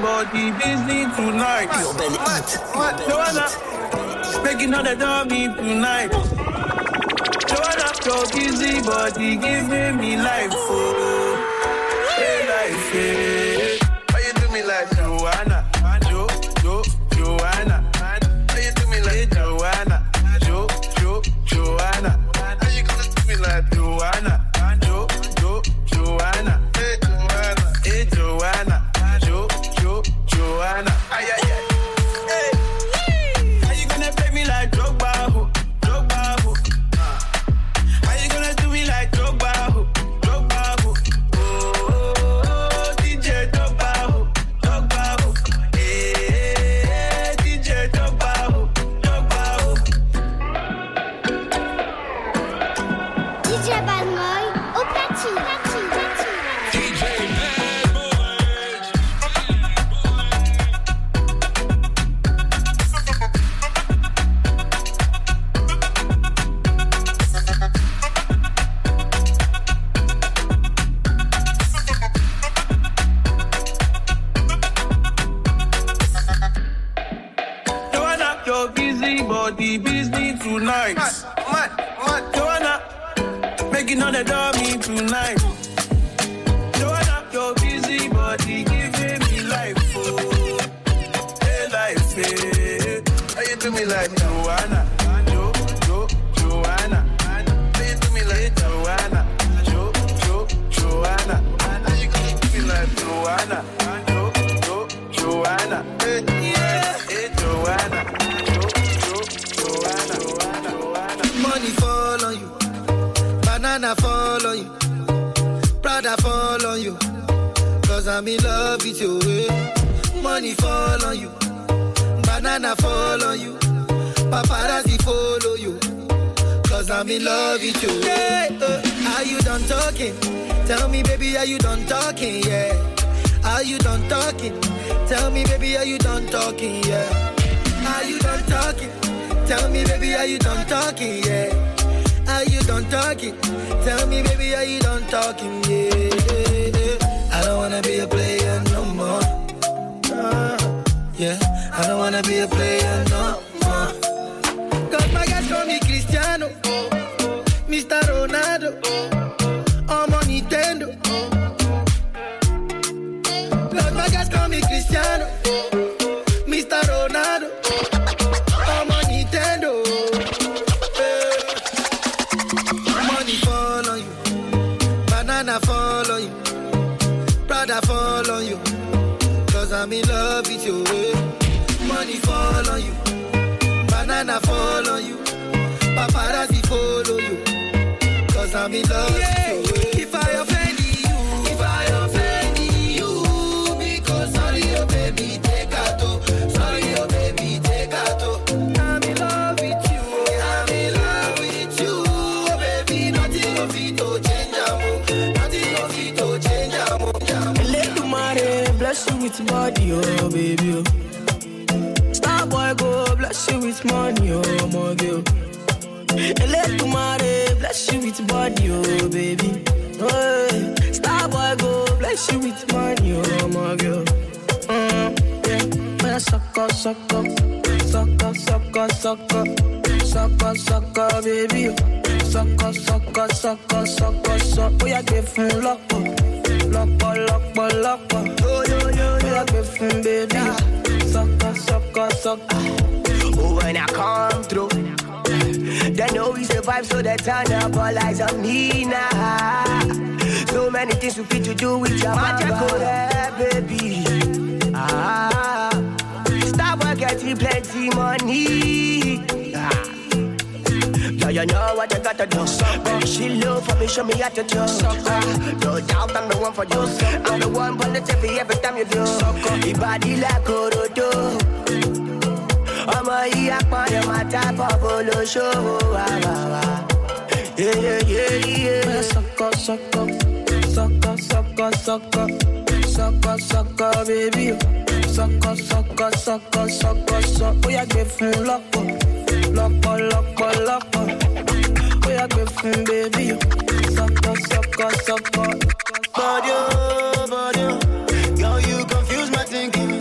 body busy tonight. Joanna, making all the dummy tonight. Joanna, your busy body giving me life, oh, hey life, hey. Why you do me like Joanna? Joanna. Why you do me like Joanna? Joanna. How you gonna do me like Joanna? Joanna. Hey Joanna. Joanna. Ay. Hey. How you gonna play me like Drogba? How you gonna do me like Drogba? Oh, DJ Drogba. Hey, DJ Drogba. DJ Bad Boy, au platine. DJ Bad Boy. Joanna, your busy body busy tonight. Joanna, making all the dummy tonight. Joanna, your busy body giving me life, oh, hey life, hey. How you do me like Joanna? Joanna. How you do me like Joanna? Joanna. How you gonna do me like Joanna? Joanna. Hey, hey Joanna. Joanna. Money fall on you, banana fall on you, Prada fall on you, cause I'm in love with you. Money fall on you, banana fall on you, paparazzi follow you, cause I'm in love with you. Are you done talking? Tell me baby, are you done talking? Yeah. Are you done talking? Tell me baby, are you done talking? Yeah. Are you done talking? Tell me baby, are you done talking? Yeah. Are you done talking? Tell me baby, are you done talking? Yeah. I don't wanna be a player no more. Yeah. I don't wanna be a player no more. Cause my guys call me Cristiano, Mr. Ronaldo, I'm on Nintendo. Cause my guys call me Cristiano, Mr. Ronaldo, I'm on Nintendo. Money fall on you, banana fall on you, Prada fall on you, cause I'm in love with you. Money fall on you, banana fall on you, paparazzi follow you, cause I'm in love with you. If I offend you, because sorry, oh baby, take out. Sorry, oh baby, take out. I'm in love with you. I'm in love with you, oh baby. Nothing of it to change, nothing of it to change, Let the money bless you with body, oh baby. Star boy go bless you with money, oh my girl. Let the money bless you with body, oh baby. Oh, star boy go bless you with money, oh my girl. Yeah, man, sucker, baby. Sucker. Oh, yeah, give him lock. Oh, yeah, give him baby. Sucker. Oh, when I come through, they know we survive, so they turn up all eyes on me now. So many things we fit to do with your magic, baby. Stop getting plenty money. Yeah, you know what I gotta do. Baby, she love for me, show me how to do. No doubt I'm the one for you. I'm the one for the TV every time you do. Your body like Orodo. I'm a yakman, my type of polo show. Yeah. Sucker, baby. Sucker. Oh, yeah, give him lock. Oh, yeah, give him baby. Sucker. Body, girl, you confuse my thinking.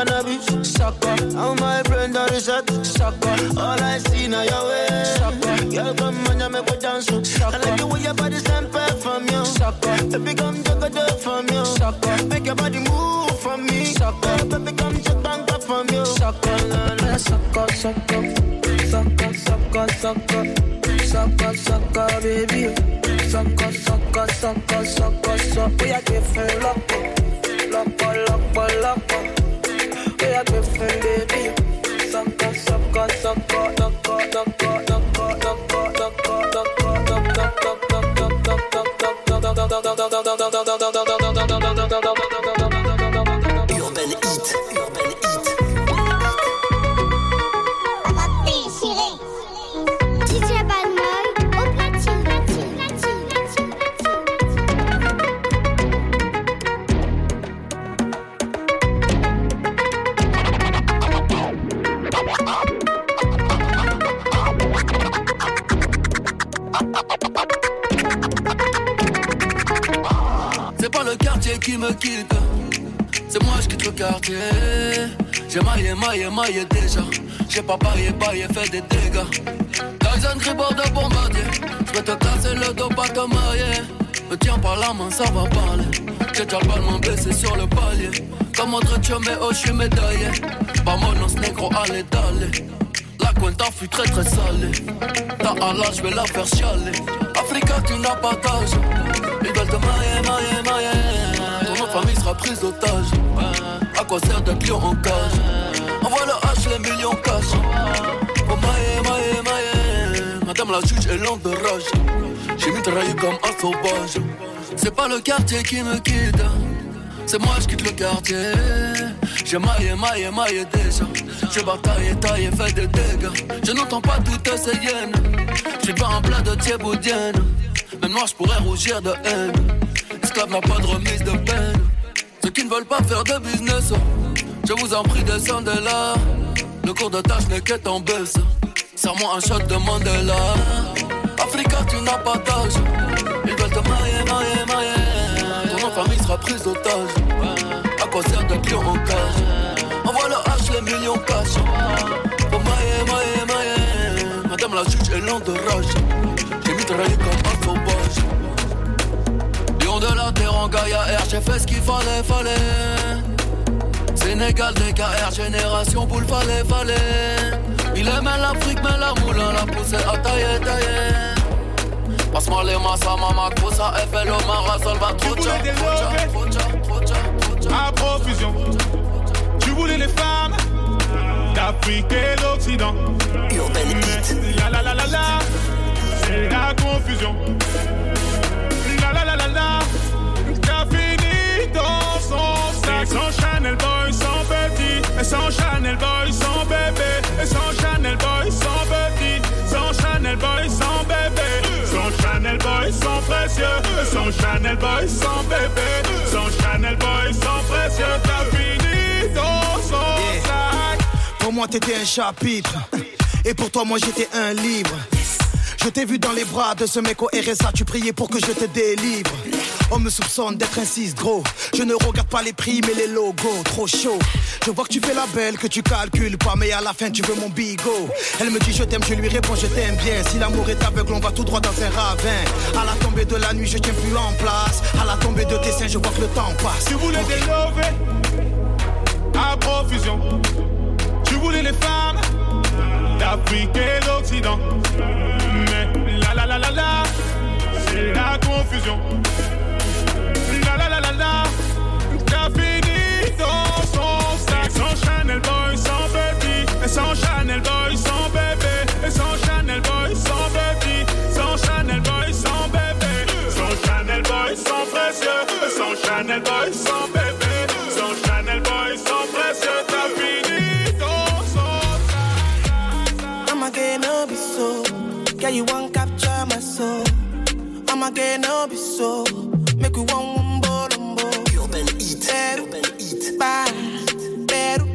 cannabis. Sucker, How my friend on the shot. sucker, All I see now your way. sucker, Girl, come on, you make me dance. I like the way your body stand back from you. sucker, Baby, come jump it from you. sucker, Make your body move from me. sucker, Baby, come jump back up from you. sucker, sucker, sucker, sucker, sucker, sucker, sucker, sucker, baby. Sucker, sucker, sucker, sucker, sucker. We are different, loco, loco, loco, loco. We are different, baby. Sucker, sucker, sucker, loco, loco, loco, loco, loco, Urban Heat. DJ Bad Boy au platine. C'est pas le quartier qui me quitte, c'est moi je quitte le quartier. J'ai maillé déjà. J'ai pas paillé, fait des dégâts. Tyson Gribord de bombardier. J'vais te casser le dos, pas te mailler. Me tiens par la main, ça va parler. J'ai déjà le ballon blessé sur le palier. Comme autre mais oh, j'suis médaillé. Vamonos négro, allez, d'aller. La cuenta fut très très salée. Ta Allah, j'vais la faire chialer. Africa, tu n'as pas d'âge. Ils veulent te mailler. Ton nom de famille sera prise d'otage. À quoi sert d'être lion en cage? Envoie le H, les millions cash. Oh mailler. Madame la juge est lente de rage. J'ai mitraillé comme un sauvage. C'est pas le quartier qui me quitte, c'est moi je quitte le quartier. J'ai maillé déjà. J'ai bataillé, taillé, fait des dégâts. Je n'entends pas toutes ces hyènes. J'suis pas un plat de thieboudienne. Même moi j'pourrais rougir de haine. Esclave n'a pas de remise de peine. Ceux qui ne veulent pas faire de business, je vous en prie descendez là. Le cours de tâche n'est qu'être en baisse. Serre-moi un shot de Mandela. Africa tu n'as pas d'âge. Ils veulent te mailler. Ton nom de famille sera prise d'otage. À quoi sert d'être lion en cage? Envoie le H, les millions cash. Faut mailler. Madame la juge est lente de rage. J'ai mitraillé comme un sauvage. Lion de la terre en Gaïa R, j'ai fait ce qu'il fallait. Sénégal, DKR, génération boule, fallait. Il aimait l'Afrique, mais la moulin l'a poussé à tailler. Passe-moi les massas, mama, cosa, FL, Omar, Salvatrucha. À profusion. Tu voulais les femmes d'Afrique et d'Occident. La, c'est la confusion. La, t'as fini dans son sac. Sans Chanel Boy, sans petit. Et sans Chanel Boy, sans bébé. Et sans Chanel Boy, sans petit. Sans Chanel Boy, sans bébé. Sans Chanel Boy, sans précieux. Sans Chanel Boy, sans bébé. Sans Chanel Boy, sans précieux. T'as fini dans son sac. Pour moi t'étais un chapitre. Et pour toi moi j'étais un livre. Je t'ai vu dans les bras de ce mec au RSA. Tu priais pour que je te délivre. On me soupçonne d'être un 6 gros. Je ne regarde pas les prix mais les logos. Trop chaud. Je vois que tu fais la belle, que tu calcules pas. Mais à la fin tu veux mon bigot. Elle me dit je t'aime, je lui réponds je t'aime bien. Si l'amour est aveugle on va tout droit dans un ravin. À la tombée de la nuit je tiens plus en place. À la tombée de tes seins je vois que le temps passe. Tu voulais des lovés à profusion. Tu voulais les femmes d'Afrique et d'Occident. Mais la, c'est la confusion. La, t'as fini dans son sac. Sans Chanel Boy, sans petit. Et sans Chanel Boy, sans bébé. Et sans Chanel Boy, sans petit. Sans Chanel Boy, sans bébé. Sans Chanel Boy, sans précieux. Sans Chanel Boy, sans bébé. Sans Chanel Boy, sans précieux. T'as fini dans son sac. I'm again, no be so. Girl, you won't capture my soul. I'm again, no be so. Make you one wumbo. Urban Heat. Peru,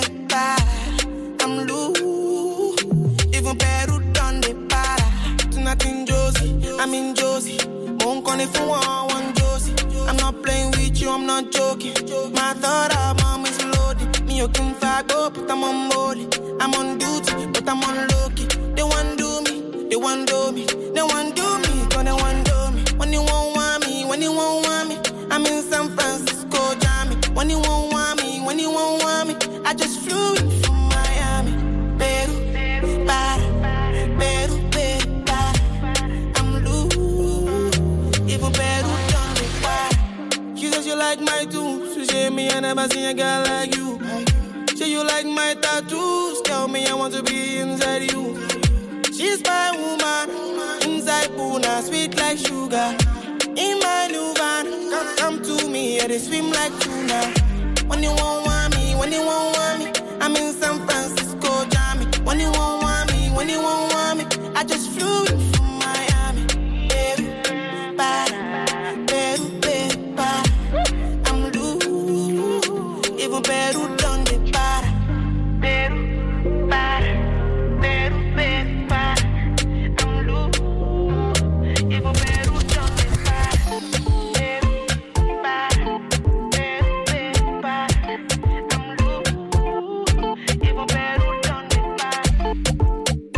I'm loose. Even Peru done the para. Tonight in Josie, I'm in Josie. Won't call if you want Josie. I'm not playing with you, I'm not joking. My thought of mom is loaded. Me me you can fuck up, but I'm on molly. I'm on duty, but I'm on low-key. They want do me, they want do me, they want do me, cause they want do me. When you won't want me, when you won't want me, I'm in San Francisco, Jammy. When you won't want me, when you won't want me, I just flew in from Miami. Peru, para, Peru, para. I'm loose, even Peru done me para. She says you like my tunes, she say me I never seen a girl like you. Say you like my tattoos, tell me I want to be inside you. She's my woman, inside Puna, sweet like sugar. In my new van, come to me, yeah, they swim like tuna. When you won't want me, when you won't want me, I'm in San Francisco, Jammy. When you won't want me, when you won't want me, I just flew in from Miami. Peru, para, Peru, para. I'm loose, even Peru done the para. Peru, para, Peru, para. I'm loose, even Peru done the para. Peru, para, Peru, para. I'm loose, even Peru done the para.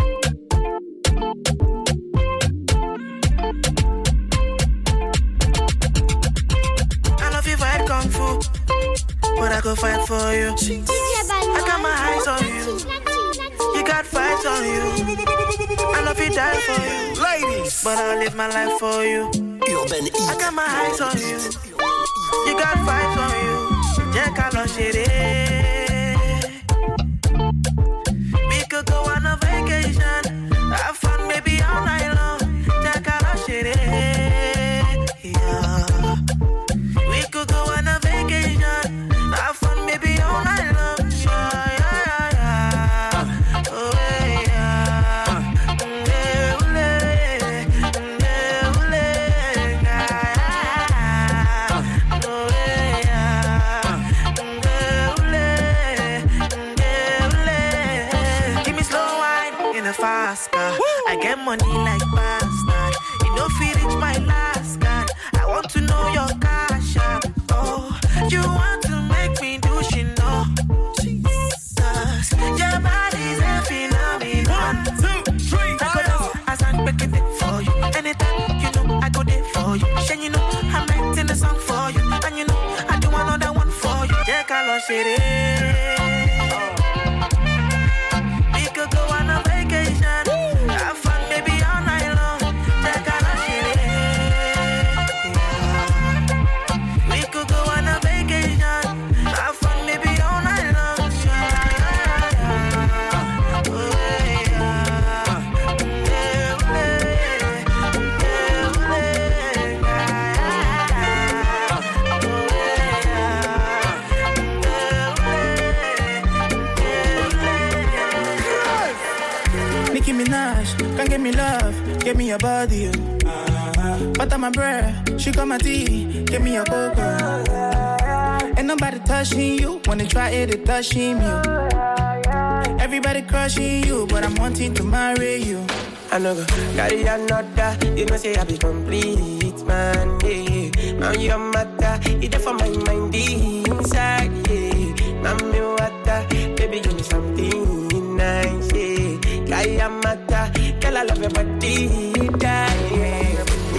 I love you vibe kung fu, but I go fight for you. I got my eyes on you, you got fights on you. I love you die for you, ladies, but I'll live my life for you. I got my eyes on you, you got fights on you. Jack, I love shit. We could go on a vacation, have fun maybe all night long. Jack, I love shit. Yeah. We could go on a vacation, have fun maybe all night long. Yeah, yeah, yeah. Oh, yeah. Give me slow wine in a fast car. I get money like bastard. You know, feel it's my last card. I want to know your cash app. Oh, you want to make me do shit, no? Jesus, your body's a phenomenon. 1, 2, 3, I go down as I'm breaking it for you. Anytime, you know, I go there for you. And you know, I'm writing a song for you. And you know, I do another one for you. Jack, I love shit. We could go on a vacation, have fun, baby, all night long. Jack, I love shit. Yeah. We could go on a vacation, have fun, baby, all night long. Nicki Minaj, can't get me love, get me your body. Butter my bread, she got my tea, get me your cocoa. Ain't nobody touching you, when they try it, they touching you. Everybody crushing you, but I'm wanting to marry you. I know go carry another, you know say I be complete, man, yeah. Now your matter, it's there for my mind inside, yeah. Now me water, baby give me something nice, yeah. Kaya mata, girl I love your body, yeah.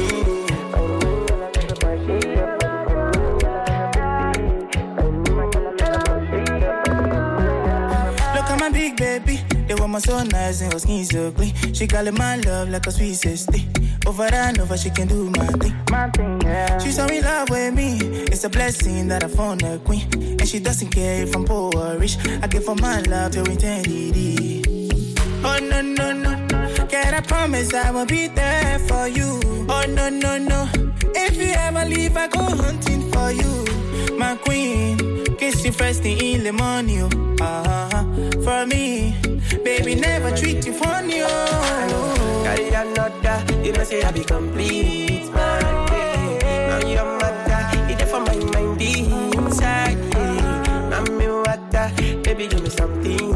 Look at my big baby, they want my so nice and her skin so clean. She call it my love like a sweet sister. Over and over, she can do my thing, yeah. She so in love with me, it's a blessing that I found a queen. And she doesn't care if I'm poor or rich. I give her my love till eternity. Oh no, no, no, can I promise I will be there for you? Oh no, no, no, if you ever leave, I go hunting for you. My queen, kiss you first thing in the morning, for me, baby, never treat you funny, oh. Carry another, you know say I be complete, man, yeah. Now your mother, it's there for my mind inside, yeah. Now me water, baby, give me something